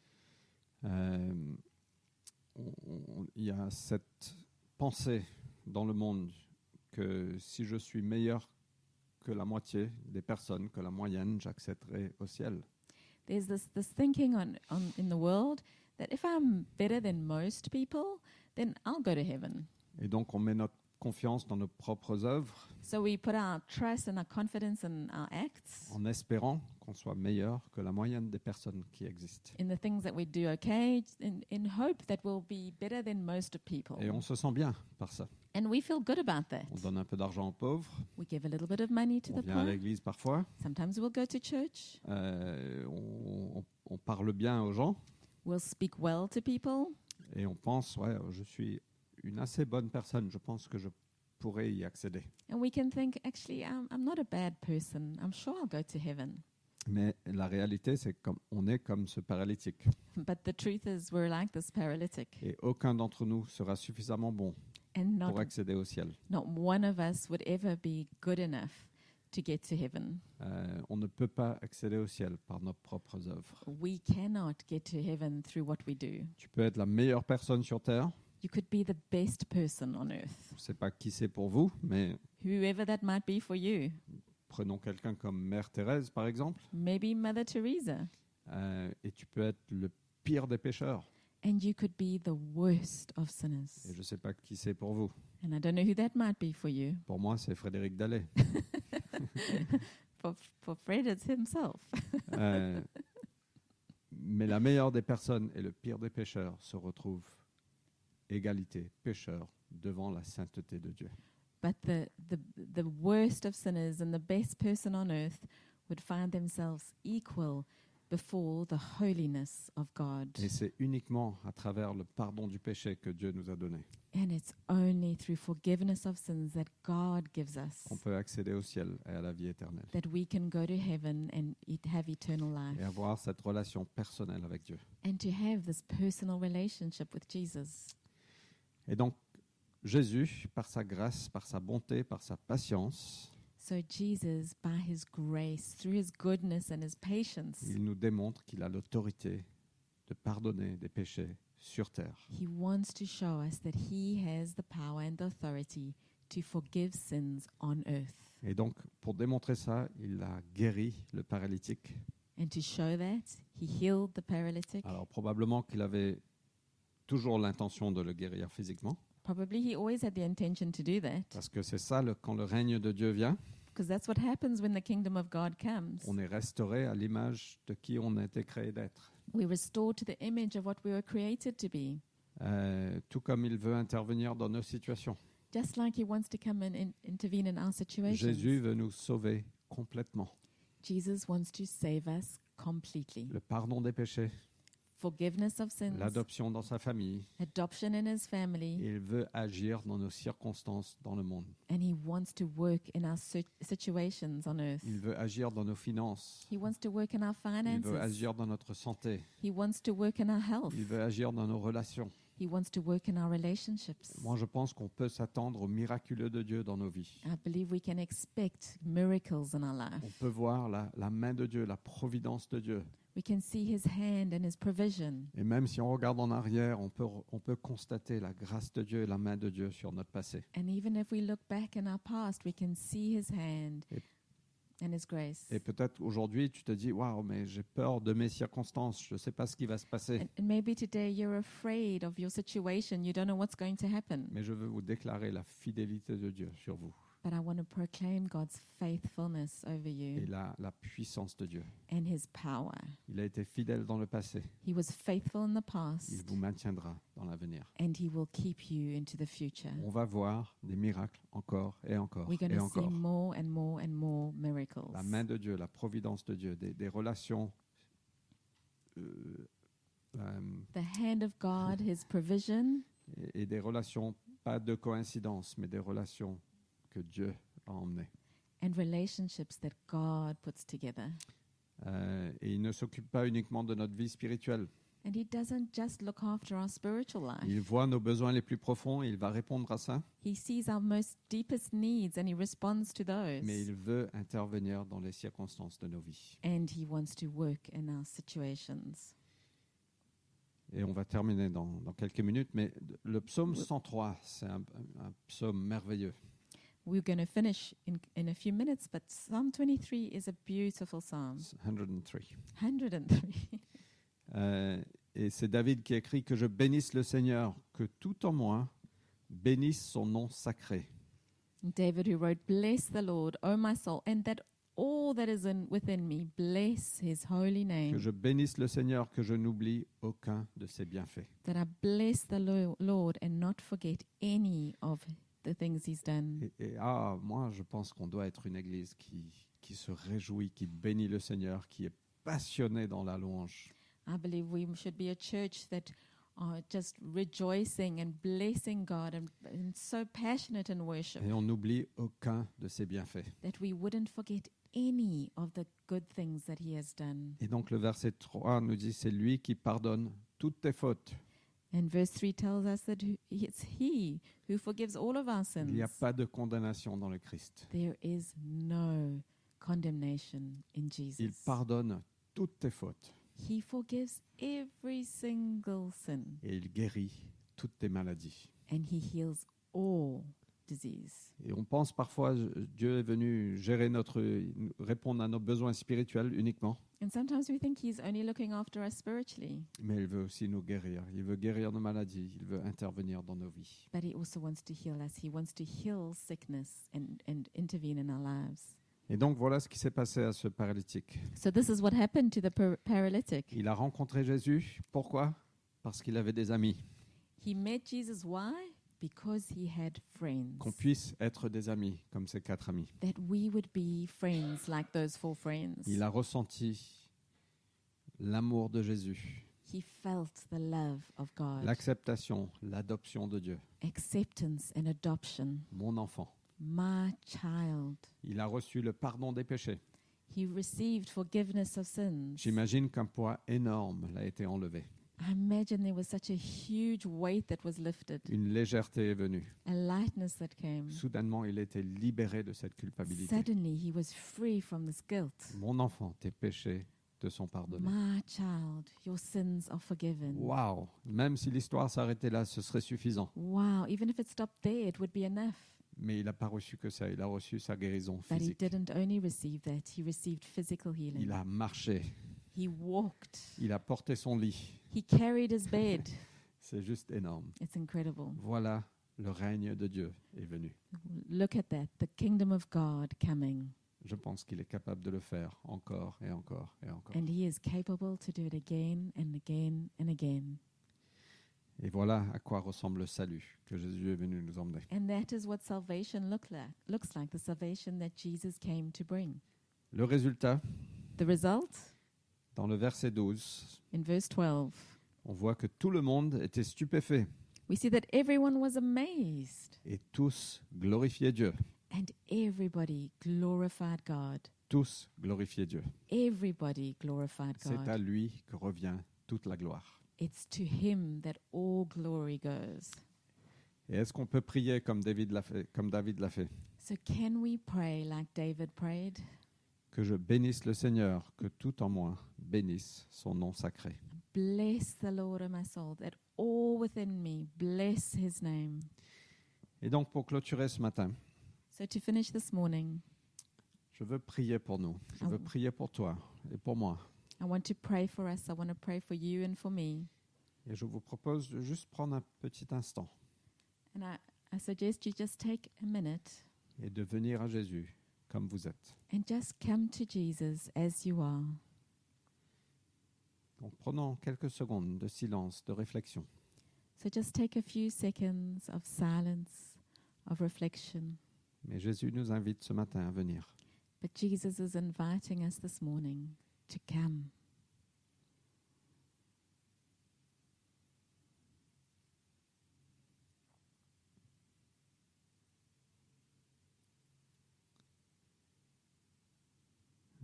Il y a cette pensée dans le monde que si je suis meilleur que la moitié des personnes, que la moyenne, j'accéderai au ciel. There's this thinking in the world that if I'm better than most people, then I'll go to heaven. Et donc on met notre confiance dans nos propres œuvres So we put our trust and our confidence in our acts, en espérant qu'on soit meilleur que la moyenne des personnes qui existent. in the things that we do okay, in hope that we'll be better than most people. Et on se sent bien par ça. And we feel good about that. On donne un peu d'argent aux pauvres, We give a little bit of money to on the vient à poor. l'église parfois, Sometimes we'll go to church. on parle bien aux gens We'll speak well to people. et on pense, ouais, je suis une assez bonne personne, je pense que je pourrais y accéder. And we can think, actually, I'm not a bad person. I'm sure I'll go to heaven. Mais la réalité, c'est qu'on est comme ce paralytique. But the truth is, we're like this paralytic. Et aucun d'entre nous sera suffisamment bon And pour accéder au ciel. not one of us would ever be good enough to get to heaven. On ne peut pas accéder au ciel par nos propres œuvres. We cannot get to heaven through what we do. Tu peux être la meilleure personne sur Terre. You could be the best person on earth, Je ne sais pas qui c'est pour vous, mais whoever that might be for you. prenons quelqu'un comme Mère Thérèse, par exemple. Maybe Mother Teresa. Et tu peux être le pire des pécheurs. And you could be the worst of sinners. Et je ne sais pas qui c'est pour vous. And I don't know who that might be for you. Pour moi, c'est Frédéric Dallet. For Fred, it's himself. Mais la meilleure des personnes et le pire des pécheurs se retrouvent égalité, pécheurs, devant la sainteté de Dieu. But the worst of sinners and the best person on earth would find themselves equal before the holiness of God. Et c'est uniquement à travers le pardon du péché que Dieu nous a donné And it's only through forgiveness of sins that God gives us qu'on peut accéder au ciel et à la vie éternelle that we can go to heaven and have eternal et life avoir cette relation personnelle avec Dieu. and to have this personal relationship with Jesus. Et donc, Jésus, par sa grâce, par sa bonté, par sa patience, So Jesus, by his grace, through his goodness and his patience, il nous démontre qu'il a l'autorité de pardonner des péchés sur terre. he wants to show us that he has the power and the authority to forgive sins on earth. Et donc, pour démontrer ça, il a guéri le paralytique. And to show that, he healed the paralytic. Alors, probablement qu'il avait toujours l'intention de le guérir physiquement, Probably he always had the intention to do that, parce que c'est ça, quand le règne de Dieu vient, because that's what happens when the kingdom of God comes. on est restauré à l'image de qui on a été créé d'être. We're restored to the image of what we were created to be. Tout comme il veut intervenir dans nos situations. Just like he wants to come and intervene in our situations. Jésus veut nous sauver complètement. Jesus wants to save us completely. Le pardon des péchés, Forgiveness of sins, l'adoption dans sa famille. adoption in his family, Il veut agir dans nos circonstances dans le monde. and he wants to work in our situations on earth. Il veut agir dans nos finances. He wants to work in our Il finances. veut agir dans notre santé. He wants to work in our health. Il veut agir dans nos relations. He wants to work in our relationships. Moi, je pense qu'on peut s'attendre au miraculeux de Dieu dans nos vies. I believe we can expect miracles in our life. On peut voir la main de Dieu, la providence de Dieu. We can see his hand and his provision. Et même si on regarde en arrière, on peut constater la grâce de Dieu et la main de Dieu sur notre passé. And even if we look back in our past, we can see his hand Et- and his grace. Et peut-être aujourd'hui, tu te dis, waouh, mais j'ai peur de mes circonstances, je ne sais pas ce qui va se passer. And maybe today you're afraid of your situation. You don't know what's going to happen. Mais je veux vous déclarer la fidélité de Dieu sur vous But I want to proclaim God's faithfulness over et you la puissance de Dieu. and his power. Il a été fidèle dans le passé. He was faithful in the Il past, vous maintiendra dans l'avenir. and he will keep you into the future. On va voir des miracles encore et encore We're going et to see encore. more and more and more miracles. La main de Dieu, la providence de Dieu, des relations The hand of God, his provision, et des relations, pas de coïncidence, mais des relations que Dieu a emmenées. and relationships that God puts together. Et il ne s'occupe pas uniquement de notre vie spirituelle. And He doesn't just look after our spiritual life. Il voit nos besoins les plus profonds et il va répondre à ça. He sees our most deepest needs and He responds to those. Mais il veut intervenir dans les circonstances de nos vies. And He wants to work in our situations. Et on va terminer dans quelques minutes, mais le psaume 103, c'est un psaume merveilleux. We're going to finish in a few minutes, but Psalm 23 is a beautiful psalm. 103. 103. Et c'est David qui écrit que je bénisse le Seigneur, que tout en moi bénisse son nom sacré. David who wrote, "Bless the Lord, O my soul, and that all that is within me, bless His holy Que name." je bénisse le Seigneur, que je n'oublie aucun de ses bienfaits. That I bless the Lord and not forget any of the things He's done. Moi, je pense qu'on doit être une église qui se réjouit, qui bénit le Seigneur, qui est passionnée dans la louange. I believe we should be a church that are just rejoicing and blessing God and so passionate in worship Et on n'oublie aucun de ses bienfaits. that we wouldn't forget any of the good things that He has done. Et donc le verset 3 nous dit, c'est lui qui pardonne toutes tes fautes. And verse 3 tells us that it's He who forgives all of our Il n'y a sins. pas de condamnation dans le Christ. There is no condemnation in Il Jesus. pardonne toutes tes fautes He forgives every single sin et il guérit toutes tes maladies. and He heals all disease. Et on pense parfois Dieu est venu répondre à nos besoins spirituels uniquement, And sometimes we think He's only looking after us spiritually, mais il veut aussi nous guérir. Il veut guérir nos maladies. Il veut intervenir dans nos vies. but He also wants to heal us. He wants to heal sickness and intervene in our lives. Et donc voilà ce qui s'est passé à ce paralytique. So this is what happened to the paralytic. Il a rencontré Jésus. Pourquoi? Parce qu'il avait des amis. He met Jesus. Why? Because he had friends. Qu'on puisse être des amis comme ces 4 amis. That we would be friends like those 4 friends. Il a ressenti l'amour de Jésus, He felt the love of God. l'acceptation, l'adoption de Dieu. Acceptance and adoption. Mon enfant. My child. Il a reçu le pardon des péchés. He received forgiveness of sins. J'imagine qu'un poids énorme l'a été enlevé. I imagine there was such a huge weight that was lifted, Une légèreté est venue. a lightness that came. Soudainement, il était libéré de cette culpabilité. Suddenly, he was free from this guilt. Mon enfant, tes péchés te sont pardonnés. My child, your sins are forgiven. Waouh! Même si l'histoire s'arrêtait là, ce serait suffisant. Wow, even if it stopped there, it would be enough. Mais il n'a pas reçu que ça. Il a reçu sa guérison But he physique. didn't only receive that, he received physical healing. Il a marché. He walked. Il a porté son lit. He carried his bed. C'est juste énorme. It's incredible. Voilà, le règne de Dieu est venu. Look at that, the kingdom of God coming. Je pense qu'il est capable de le faire encore et encore et encore. And he is capable to do it again and again and again. Et voilà à quoi ressemble le salut que Jésus est venu nous emmener. And that is what salvation looks like, the salvation that Jesus came to bring. Le résultat, The result, dans le verset 12, in verse 12, on voit que tout le monde était stupéfait we see that everyone was amazed et tous glorifiaient Dieu. and everybody glorified God. Tous glorifiaient Dieu. Everybody glorified C'est à God. lui que revient toute la gloire. It's to him that all glory goes. Et est-ce qu'on peut prier comme David l'a fait? So can we pray like David prayed? Que je bénisse le Seigneur, que tout en moi bénisse son nom sacré. Bless the Lord, O my soul, that all within me bless his name. Et donc pour clôturer ce matin, So to finish this morning, je veux prier pour nous. Je veux prier pour toi et pour moi. I want to pray for us. I want to pray for you and for me. Et je vous propose de juste prendre un petit instant And I suggest you just take a minute et de venir à Jésus comme vous êtes. and just come to Jesus as you are. Donc prenons quelques secondes de silence, de réflexion. So just take a few seconds of silence, of reflection. Mais Jésus nous invite ce matin à venir. But Jesus is inviting us this morning to come.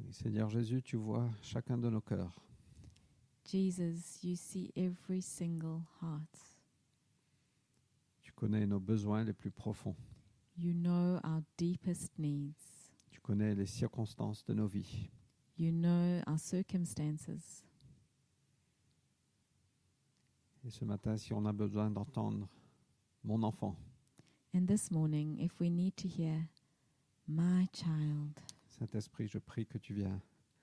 Et Seigneur Jésus, tu vois chacun de nos cœurs. Jesus, you see every single heart. Tu connais nos besoins les plus profonds. You know our deepest needs. Tu connais les circonstances de nos vies. You know our circumstances. Et ce matin, si on a besoin d'entendre mon enfant, And this morning, if we need to hear, my child, Saint-Esprit, je prie que tu viennes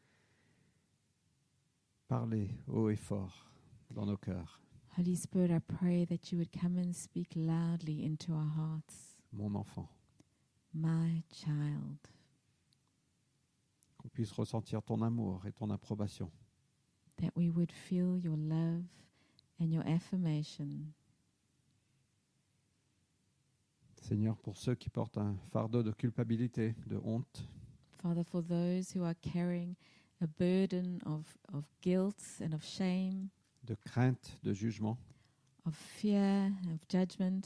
parler haut et fort dans nos cœurs. Holy Spirit, I pray that you would come and speak loudly into our hearts. Mon enfant, My child. qu'on puisse ressentir ton amour et ton approbation. That we would feel your love and your affirmation. Seigneur, pour ceux qui portent un fardeau de culpabilité, de honte, Father, for those who are carrying a burden of guilt and of shame, de crainte, de jugement, of fear, of judgment,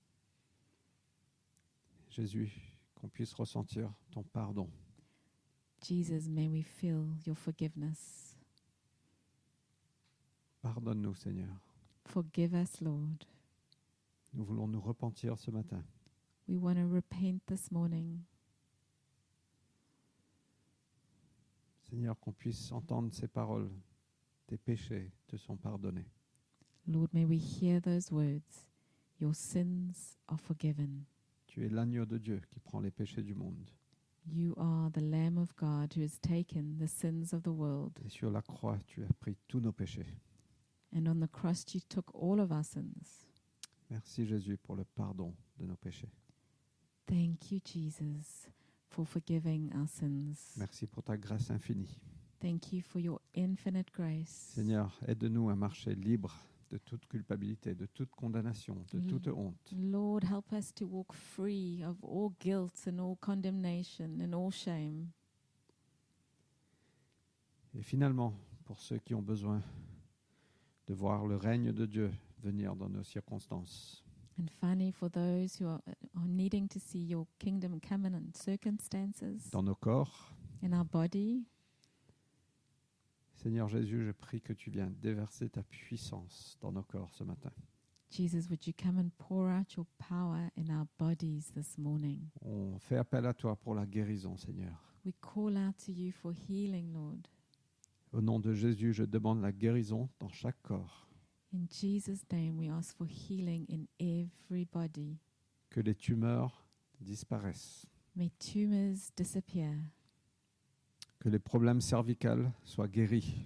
Jésus, qu'on puisse ressentir ton pardon. Jesus, may we feel your forgiveness. Pardonne-nous, Seigneur. Forgive us, Lord. Nous voulons nous repentir ce matin. We want to repent this morning. Seigneur, qu'on puisse entendre ces paroles. Tes péchés te sont pardonnés. Lord, may we hear those words. Your sins are forgiven. Tu es l'agneau de Dieu qui prend les péchés du monde. You are the Lamb of God who has taken the sins of the world. Et sur la croix, tu as pris tous nos péchés. And on the cross you took all of our sins. Merci Jésus pour le pardon de nos péchés. Thank you, Jesus, for forgiving our sins. Merci pour ta grâce infinie. Thank you for your infinite grace. Seigneur, aide-nous à marcher libre de toute culpabilité, de toute condamnation, de toute honte. Lord, help us to walk free of all guilt and all condemnation and all shame. Et finalement, pour ceux qui ont besoin de voir le règne de Dieu venir dans nos circonstances, And finally, for those who are needing to see your kingdom come in circumstances, dans nos corps, in our body, Seigneur Jésus, je prie que tu viennes déverser ta puissance dans nos corps ce matin. Jesus, would you come and pour out your power in our bodies this morning? On fait appel à toi pour la guérison, Seigneur. We call out to you for healing, Lord. Au nom de Jésus, je demande la guérison dans chaque corps. In Jesus' name, we ask for healing in every body. Que les tumeurs disparaissent. May tumors disappear. Que les problèmes cervicales soient guéris.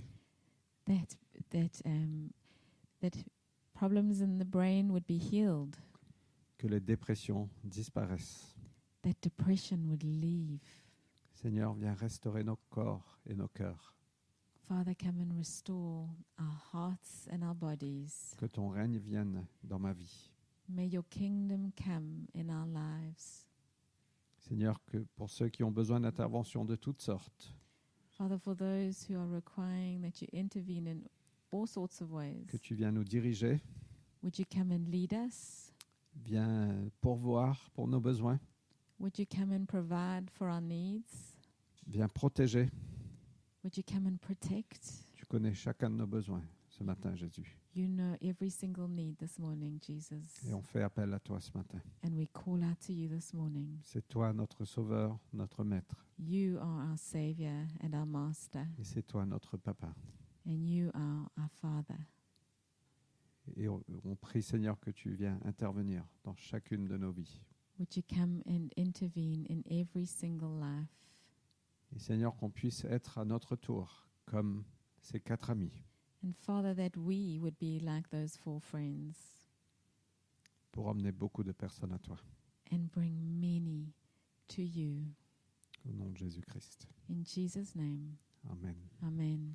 That problems in the brain would be healed. Que les dépressions disparaissent. That depression would leave. Seigneur, viens restaurer nos corps et nos cœurs. Father, come and restore our hearts and our bodies. Que ton règne vienne dans ma vie. May your kingdom come in our lives. Seigneur, que pour ceux qui ont besoin d'intervention de toutes sortes, Father, for those who are requiring that you intervene in all sorts of ways, que tu viens nous diriger, would you come and lead us? viens pourvoir pour nos besoins, Would you come and provide for our needs? viens protéger. Would you come and protect? Tu connais chacun de nos besoins ce matin, Jésus. You know every single need this morning, Jesus. Et on fait appel à toi ce matin. And we call out to you this morning. C'est toi notre Sauveur, notre Maître. You are our Savior and our Master, Et c'est toi notre Papa. and you are our Father. Et on prie, Seigneur, que tu viens intervenir dans chacune de nos vies. Would you come and intervene in every single life? Et Seigneur, qu'on puisse être à notre tour comme ces 4 amis And Father, that we would be like those 4 friends pour emmener beaucoup de personnes à toi. and bring many to you. Au nom de Jésus-Christ. In Jesus' name, Amen. amen.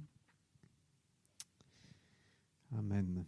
Amen.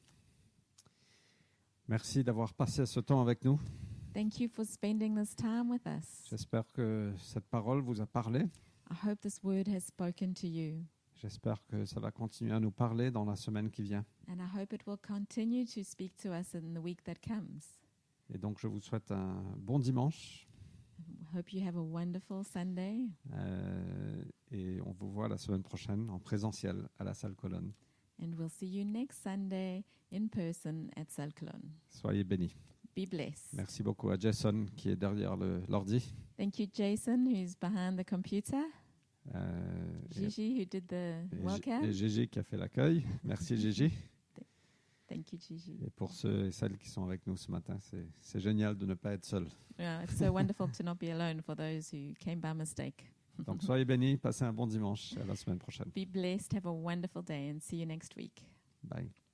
Merci d'avoir passé ce temps avec nous. Thank you for spending this time with us. J'espère que cette parole vous a parlé. I hope this word has spoken to you, J'espère que ça va continuer à nous parler dans la semaine qui vient. and I hope it will continue to speak to us in the week that comes. Et donc, je vous souhaite un bon dimanche Hope you have a wonderful Sunday. Et on vous voit la semaine prochaine en présentiel à la salle Colonne. And we'll see you next Sunday in person at Salclon. Soyez bénis. Be blessed. Merci beaucoup à Jason qui est derrière l'ordi. Thank you, Jason, who's behind the computer. Et Gigi, who did the welcome. Gigi qui a fait l'accueil. Merci Gigi. Thank you, Gigi. Et pour ceux et celles qui sont avec nous ce matin, c'est génial de ne pas être seul. It's so wonderful to not be alone for those who came by mistake. Donc soyez bénis, passez un bon dimanche. À la semaine prochaine. Be blessed, have a wonderful day, and see you next week. Bye.